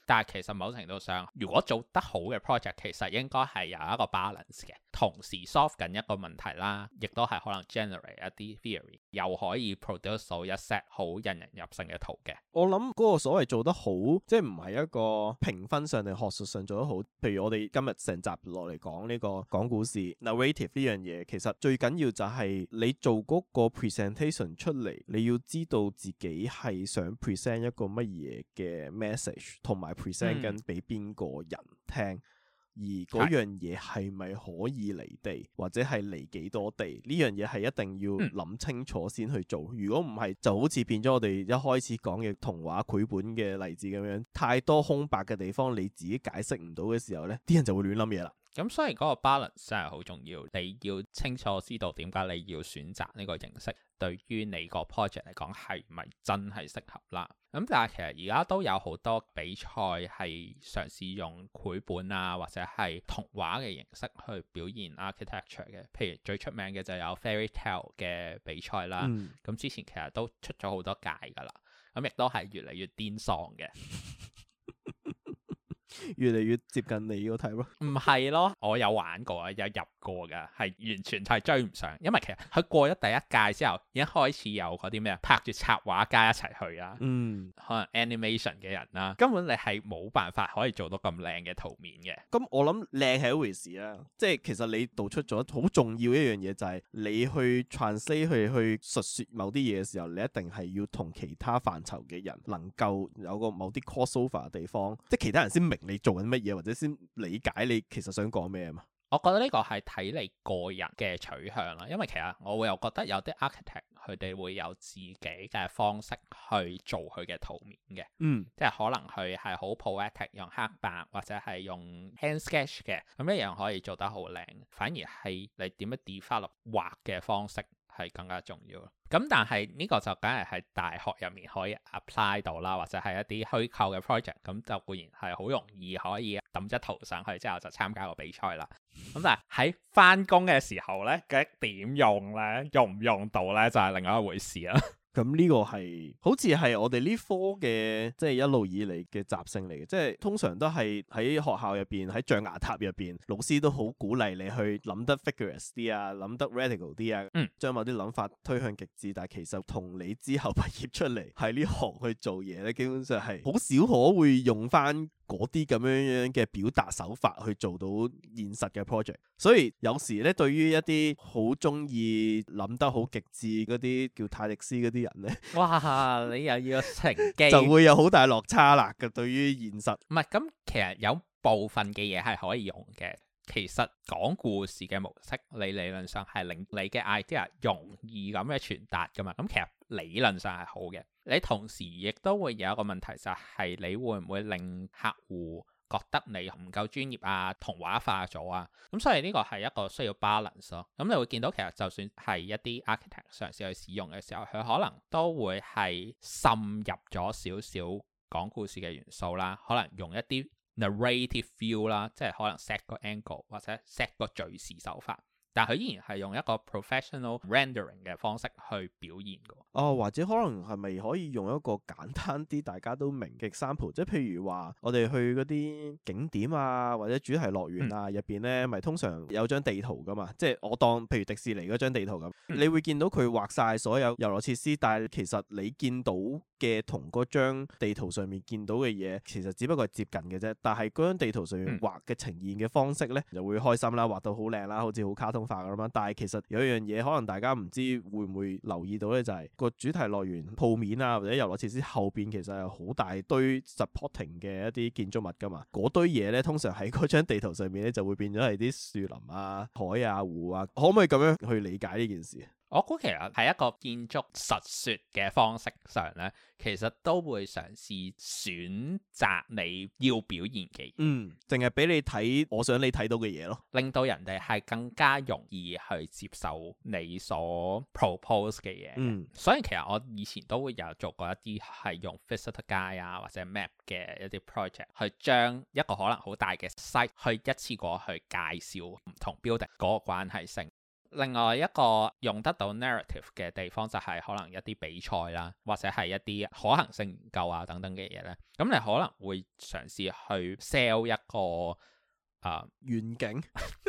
但係其實某程度上，如果做得好嘅 project，其實應該係有一個 balance 嘅，同時 solve 緊一個問題啦，亦都係可能 generate 一啲 theory，又可以 produce 到一 set 好引人入勝嘅圖嘅。 我諗嗰個所謂做得好，即係唔係一個評分上定學術上做得好。譬如我哋今日成集落嚟講呢個講故事 narrative 呢樣嘢，其實最緊要就係你做嗰個 presentation 出嚟，你要知道自己係想 present 一個乜嘢嘅 message，同埋 present 緊俾邊個人聽。而嗰樣嘢係咪可以離地，或者係離幾多地？呢樣嘢係一定要諗清楚先去做。如果唔係，就好似變咗我哋一開始講嘅童話繪本嘅例子咁樣，太多空白嘅地方，你自己解釋唔到嘅時候呢，啲人就會亂諗嘢啦。 咁所以嗰個 balance 真係好重要，你要清楚知道點解你要選擇呢個形式，對於你個 project 嚟講係咪真係適合啦？咁但係其實而家都有好多比賽係嘗試用繪本啊或者係童話嘅形式去表現 architecture 嘅，譬如最出名嘅就有 Fairy Tale 嘅比賽啦。咁之前其實都出咗好多屆㗎啦，咁亦都係越嚟越癲喪嘅。 越嚟越接近你個題咯， 唔係咯，我有玩過啊，有入過噶，係完全係追唔上，因為其實佢過咗第一屆之後，已經開始有嗰啲咩拍住插畫家一齊去啊，可能 animation 嘅人啦，根本你係冇辦法可以做到咁靚嘅圖面嘅。 咁我諗靚係一回事啊，即係其實你道出咗好重要一樣嘢，就係你去 translate 去述說某啲嘢嘅時候，你一定係要同其他範疇嘅人能夠有個某啲 crossover 嘅地方，即係其他人先明你做緊乜嘢，或者先理解你其實想講咩啊嘛。 我覺得呢個係睇你個人嘅取向啦，因為其實我會又覺得有啲 architect 佢哋會有自己嘅方式去做佢嘅圖面嘅，即係可能佢係好 poetic 用黑白或者係用 hand sketch 嘅，咁一樣可以做得好靚。反而係你點樣 develop 畫嘅方式係更加重要。咁但係呢個就梗係喺大學入面可以 apply 到啦，或者係一啲虛構嘅 project，咁就固然係好容易可以抌張圖上去之後就參加個比賽啦。咁但係喺翻工嘅時候呢，究竟點用呢？用唔用到呢？就係另外一回事啦。 咁呢個係好似係我哋呢科嘅即係一路以嚟嘅習性嚟嘅，即係通常都係喺學校入邊喺象牙塔入邊，老師都好鼓勵你去諗得 vigorous 啲啊，諗得 radical 啲啊，將某啲諗法推向極致。但係其實同你之後畢業出嚟喺呢行去做嘢咧，基本上係好少可會用翻嗰啲咁樣嘅表達手法去做到現實嘅 project。所以有時咧，對於一啲好中意諗得好極致嗰啲叫泰迪斯嗰啲人咧， 哇！你又要乘機就會有好大落差啦嘅。對於現實， 唔係咁，其實有部分嘅嘢係可以用嘅。其實講故事嘅模式，你理論上係令你嘅 idea 容易咁嘅傳達噶嘛。咁其實理論上係好嘅。你同時亦都會有一個問題，就係你會唔會令客戶覺得你唔夠專業啊，童話化咗啊？咁所以呢個係一個需要 balance 咯。咁你會見到其實就算係一啲 architect 嘗試去使用嘅時候，佢可能都會係滲入咗少少講故事嘅元素啦，可能用一啲narrative feel 啦，即係可能 set 個 angle 或者 set 個敘事手法，但佢依然係用一個 professional rendering 嘅方式去表現嘅。 或者可能係咪可以用一個簡單啲大家都明嘅 example， 即係譬如話我哋去嗰啲景點啊或者主題樂園啊入邊咧，咪通常有張地圖噶嘛，即係我當譬如迪士尼嗰張地圖咁，你會見到佢畫晒所有遊樂設施，但係其實你見到嘅同嗰張地圖上面見到嘅嘢，其實只不過係接近嘅啫。但係嗰張地圖上面畫嘅呈現嘅方式咧，就會開心啦，畫到好靚啦，好似好卡通化咁樣。但係其實有一樣嘢，可能大家唔知會唔會留意到咧，就係個主題樂園鋪面啊，或者遊樂設施後邊其實係好大堆 supporting 嘅一啲建築物噶嘛。嗰堆嘢咧，通常喺嗰張地圖上面咧，就會變咗係啲樹林啊、海啊、湖啊。可唔可以咁樣去理解呢件事？ 我估其實喺一個建築實說嘅方式上咧，其實都會嘗試選擇你要表現嘅嘢， 淨係俾你睇我想你睇到嘅嘢咯， 令到人哋係更加容易去接受你所 propose 嘅嘢。所以其實我以前都會有做過一啲係用 visitor guide 啊或者 map 嘅一啲 project，去將一個可能好大嘅 site 去一次過去介紹唔同 building 嗰個關係性。 另外一個用得到 narrative 嘅地方就係可能一啲比賽啦，或者係一啲可行性研究啊等等嘅嘢咧。咁你可能會嘗試去 sell 一個遠景。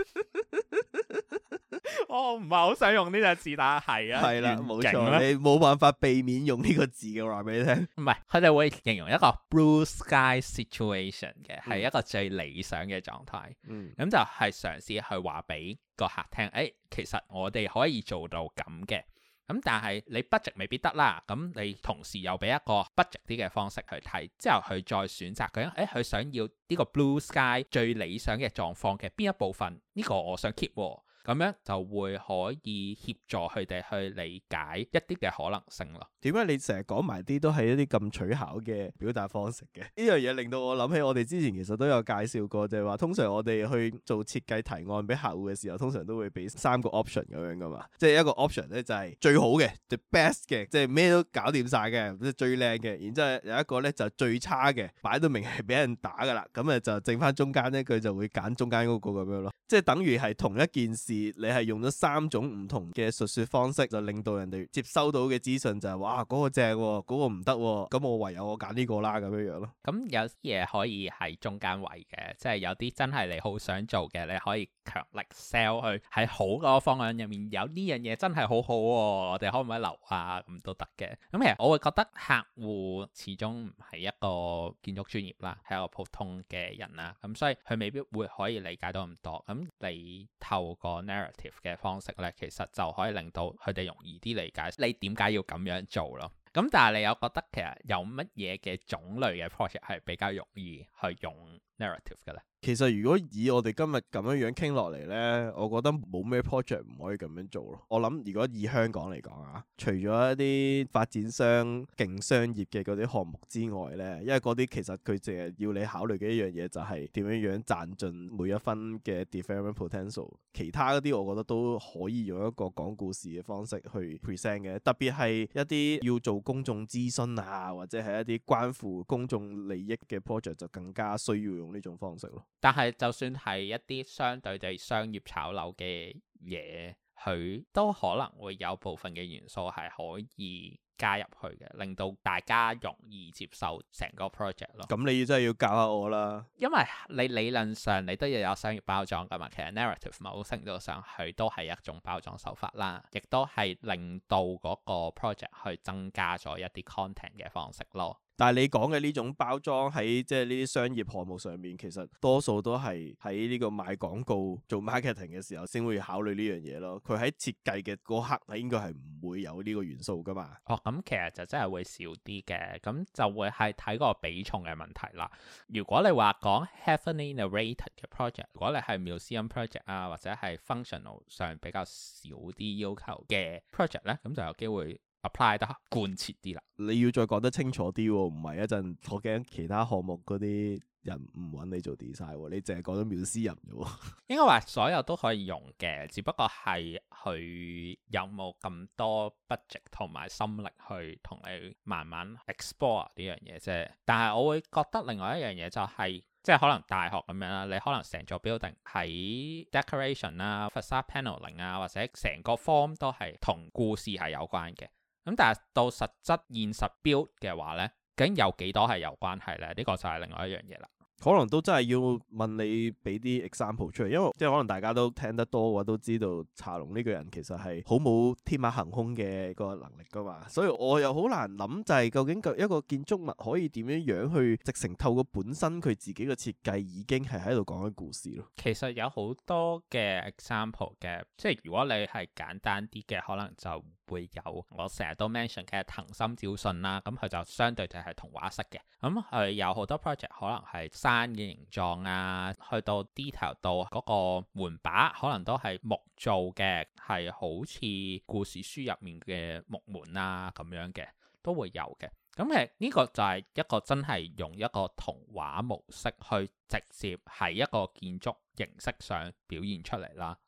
我唔係好想用呢隻字，但係係啦，冇錯，你冇辦法避免用呢個字嘅，話俾你聽。 唔係，佢哋會形容一個 blue sky situation 嘅，係一個最理想嘅狀態。咁就係嘗試去話俾個客聽，其實我哋可以做到咁嘅。咁但係你 budget 未必得啦，咁你同時又俾一個 budget 啲嘅方式去睇，之後佢再選擇究竟佢想要呢個 blue sky 最理想嘅狀況嘅邊一部分，呢個我想 keep 喎。咁樣就會可以協助佢哋去理解一啲嘅可能性咯。 點解你成日講埋啲都係一啲咁取巧嘅表達方式嘅？呢樣嘢令到我諗起我哋之前其實都有介紹過，就係話通常我哋去做設計提案俾客戶嘅時候，通常都會俾3個 option 咁樣噶嘛。即係一個 option 咧就係最好嘅 the best 嘅，即係咩都搞掂晒嘅，即係最靚嘅。然之後有一個咧就最差嘅，擺到明係俾人打噶啦。咁就剩翻中間咧，佢就會揀中間嗰個咁樣咯。即係等於係同一件事，你係用咗3種唔同嘅述說方式，就令到人哋接收到嘅資訊就係哇嗰個正喎，嗰個唔得喎，咁我唯有我揀呢個啦咁樣樣咯。咁有啲嘢可以喺中間位嘅，即係有啲真係你好想做嘅，你可以強力 sell 去喺好嗰個方案入面有呢樣嘢真係好好喎，我哋可唔可以留啊？咁都得嘅。咁其實我會覺得客戶始終唔係一個建築專業啦，係一個普通嘅人啦，咁所以佢未必會可以理解到咁多。咁你透過 narrative 嘅方式咧，其實就可以令到佢哋容易啲理解你點解要咁樣做咯。咁但係你有覺得其實有乜嘢嘅種類嘅 project 係比較容易去用 narrative 嘅咧？ 其實如果以我哋今日咁樣樣傾落嚟呢，我覺得冇咩 project 唔可以咁樣做咯。我諗如果以香港嚟講啊，除咗一啲發展商勁商業嘅嗰啲項目之外呢，因為嗰啲其實佢淨係要你考慮嘅一樣嘢就係點樣樣賺盡每一分嘅 development potential。其他嗰啲我覺得都可以用一個講故事嘅方式去 present 嘅，特別係一啲要做公眾諮詢啊，或者係一啲關乎公眾利益嘅 project 就更加需要用呢種方式咯。 但係就算係一啲相對地商業炒樓嘅嘢，佢都可能會有部分嘅元素係可以加入去嘅，令到大家容易接受成個 project 咯。咁你真係要教下我啦，因為你理論上你都要有商業包裝噶嘛。其實 narrative 某程度上佢都係一種包裝手法啦，亦都係令到嗰個 project 去增加咗一啲 content 嘅方式咯。 但係你講嘅呢種包裝喺即係呢啲商業項目上面，其實多數都係喺呢個賣廣告做 marketing 嘅時候先會考慮呢樣嘢咯。佢喺設計嘅嗰刻係應該係唔會有呢個元素噶嘛。 咁其實就真係會少啲嘅，咁就會係睇個比重嘅問題啦。如果你話講 heavily narrated 嘅 project， 如果你係 museum project 啊，或者係 functional 上比較少啲要求嘅 project 咧，咁就有機會 apply 得貫徹啲啦。 你要再講得清楚啲喎，唔係一陣我驚其他項目嗰啲人唔揾你做 design，你淨係講咗museum啫喎。 應該話所有都可以用嘅，只不過係佢有冇咁多 budget 同埋心力去同你慢慢 explore 呢樣嘢啫。但係我會覺得另外一樣嘢就係，即係可能大學咁樣啦，你可能成座 building 喺 decoration 啊、facade paneling 啊，或者成個 form 都係同故事係有關嘅。咁但係到實質現實 build 嘅話呢，究竟有幾多係有關係呢？呢個就係另外一樣嘢啦。 可能都真係要問你俾啲 example 出嚟，因為即係可能大家都聽得多嘅話，都知道茶龍呢個人其實係好冇天馬行空嘅個能力噶嘛，所以我又好難諗就係究竟一個建築物可以點樣樣去直成透過本身佢自己嘅設計已經係喺度講緊故事咯。其實有好多嘅 example 嘅，即係如果你係簡單啲嘅，可能就會有我成日都 mention 嘅藤心照信啦，咁佢就相對就係童話式嘅，咁佢有好多 project 可能係山嘅形狀啊，去到 detail 到嗰個門把可能都係木做嘅，係好似故事書入面嘅木門啊咁樣嘅都會有嘅。咁其實呢個就係一個真係用一個童話模式去直接喺一個建築形式上表現出嚟啦。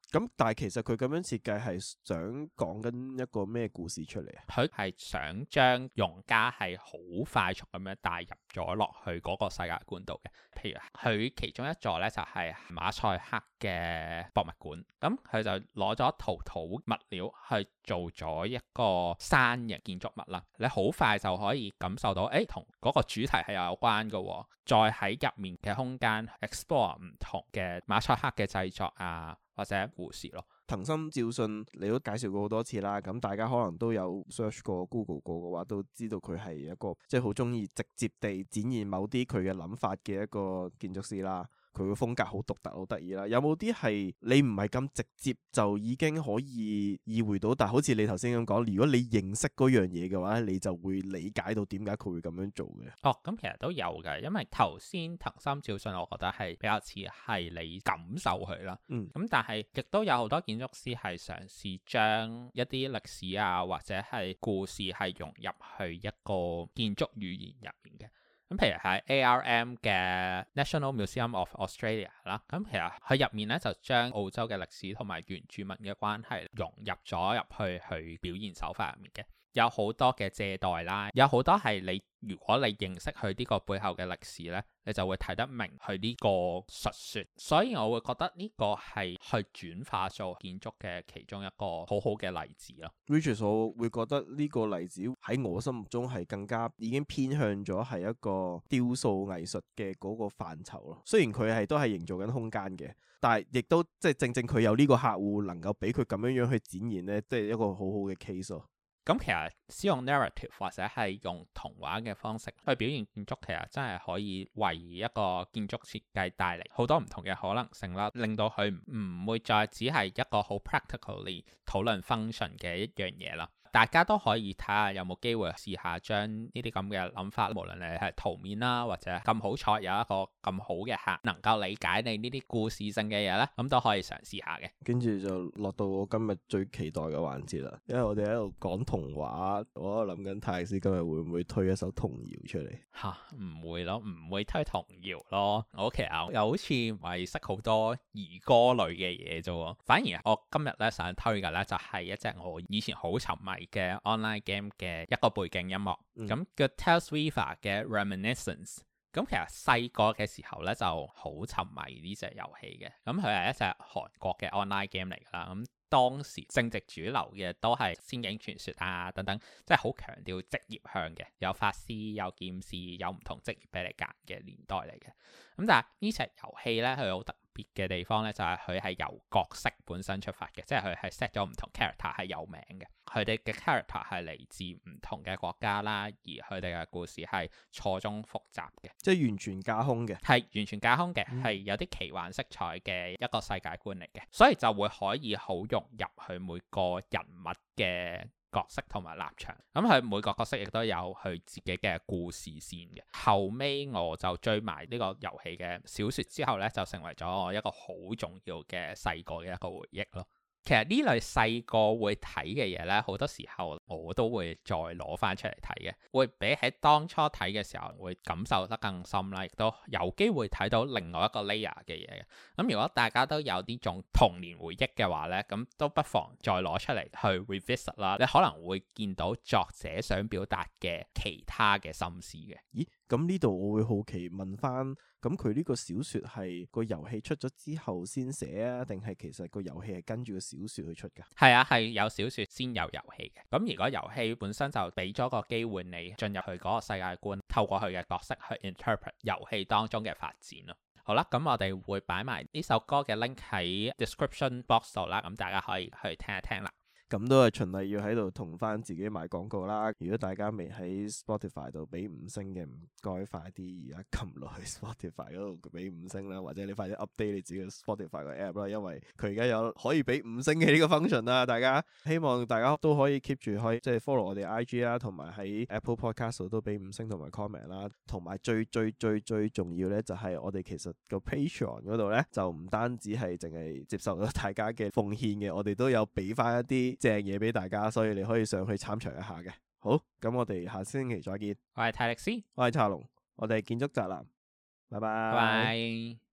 咁但係其實佢咁樣設計係想講緊一個咩故事出嚟啊？ 佢係想將用家係好快速咁樣帶入咗落去嗰個世界觀度嘅。譬如佢其中一座呢，就係馬賽克嘅博物館，咁佢就攞咗陶土物料去做咗一個山形建築物啦。你好快就可以感受到，同嗰個主題係有關嘅喎。再喺入面嘅空間 explore 唔同嘅馬賽克嘅製作啊，或者故事咯。 藤森照信你都介紹過好多次啦，咁大家可能都有 search 過 Google 過嘅話，都知道佢係一個即係好中意直接地展現某啲佢嘅諗法嘅一個建築師啦。佢嘅風格好獨特，好得意啦。有冇啲係你唔係咁直接就已經可以意會到，但係好似你頭先咁講，如果你認識嗰樣嘢嘅話，你就會理解到點解佢會咁樣做嘅。 咁其實都有嘅，因為頭先藤森照信，我覺得係比較似係你感受佢啦。咁但係亦都有好多建築師係嘗試將一啲歷史啊，或者係故事係融入去一個建築語言入面嘅。咁譬如喺 ARM 嘅 National Museum of Australia 啦，咁其實佢入面咧就將澳洲嘅歷史同埋原住民嘅關係融入咗入去表現手法入面嘅。有好多嘅借代啦，有好多係你如果你認識佢呢個背後嘅歷史呢，你就會睇得明佢呢個述說。所以我會覺得呢個係去轉化做建築嘅其中一個好好嘅例子咯。 Which 我會覺得呢個例子喺我心目中係更加已經偏向咗係一個雕塑藝術嘅嗰個範疇咯。雖然佢都係營造緊空間嘅，但係亦都即係正正佢有呢個客戶能夠俾佢咁樣去展現呢，即係一個好好嘅 case 咯。 咁其實使用 narrative 或者係用童話嘅方式去表現建築，其實真係可以為一個建築設計帶嚟好多唔同嘅可能性啦，令到佢唔會再只係一個好 practically 討論 function 嘅一樣嘢啦。大家都可以睇下有冇機會試下將呢啲咁嘅諗法，無論你係圖面啦，或者咁好彩有一個咁好嘅客能夠理解你呢啲故事性嘅嘢咧，咁都可以嘗試下嘅。跟住就落到我今日最期待嘅環節啦，因為我哋喺度講童話，我諗緊泰勒斯今日會唔會推一首童謠出嚟？ 唔會咯，唔會推童謠咯。我其實又好似唔係識好多兒歌類嘅嘢啫，反而我今日咧想推嘅咧就係一隻我以前好沉迷嘅 online game 嘅一個背景音樂，咁叫 Tales Weaver 嘅 Reminiscence。咁其實細個嘅時候咧就好沉迷呢隻遊戲嘅，咁佢係一隻韓國嘅 online game 嚟噶啦。咁當時正值主流嘅都係仙境傳說啊等等，即係好強調職業向嘅，有法師、有劍士、有唔同職業俾你揀嘅年代嚟嘅。咁但係呢隻遊戲咧，佢好特別嘅地方咧，就係佢係由角色本身出發嘅，即係佢係 set 咗唔同 character 係有名嘅，佢哋嘅 character 係嚟自唔同嘅國家啦，而佢哋嘅故事係錯綜複雜嘅， 即係完全架空嘅， 係完全架空嘅，係有啲奇幻色彩嘅一個世界觀嚟嘅，所以就會可以好融入去每個人物嘅角色同埋立場，咁佢每個角色亦都有佢自己嘅故事線嘅。後尾我就追埋呢個遊戲嘅小說之後呢，就成為咗我一個好重要嘅細個嘅一個回憶咯。其實呢類細個會睇嘅嘢呢，好多時候我都會再攞翻出嚟睇嘅，會比起當初睇嘅時候會感受得更深啦，亦都有機會睇到另外一個 layer 嘅嘢嘅。咁如果大家都有呢種童年回憶嘅話呢，咁都不妨再攞出嚟去 revisit 啦，你可能會見到作者想表達嘅其他嘅心思嘅。 咦？咁呢度我會好奇問翻，咁佢呢個小說係個遊戲出咗之後先寫啊，定係其實個遊戲係跟住個小說去出噶？ 係啊，係有小說先有遊戲嘅。咁如果遊戲本身就俾咗個機會你進入去嗰個世界觀，透過佢嘅角色去 interpret 遊戲當中嘅發展咯。好啦，咁我哋會擺埋呢首歌嘅 link 喺 description box 度啦，咁大家可以去聽一聽啦。 咁都係循例要喺度同翻自己賣廣告啦。如果大家未喺 Spotify 度俾5星嘅，唔該快啲而家撳落去 Spotify 嗰度俾5星啦，或者你快啲 update 你自己 Spotify 個 app 啦，因為佢而家有可以俾5星嘅呢個 function 啦。大家希望大家都可以 keep 住可以即係 follow 我哋 IG 啦，同埋喺 Apple Podcast 度都俾5星同埋 comment 啦。同埋最重要咧，就係我哋其實個 Patreon 嗰度咧，就唔單止係淨係接受到大家嘅奉獻嘅，我哋都有俾翻一啲正嘢俾大家，所以你可以上去參詳一下嘅。好，咁我哋下星期再見。 我係泰力斯， 我係查龍，我哋建築宅男，拜拜。 拜拜。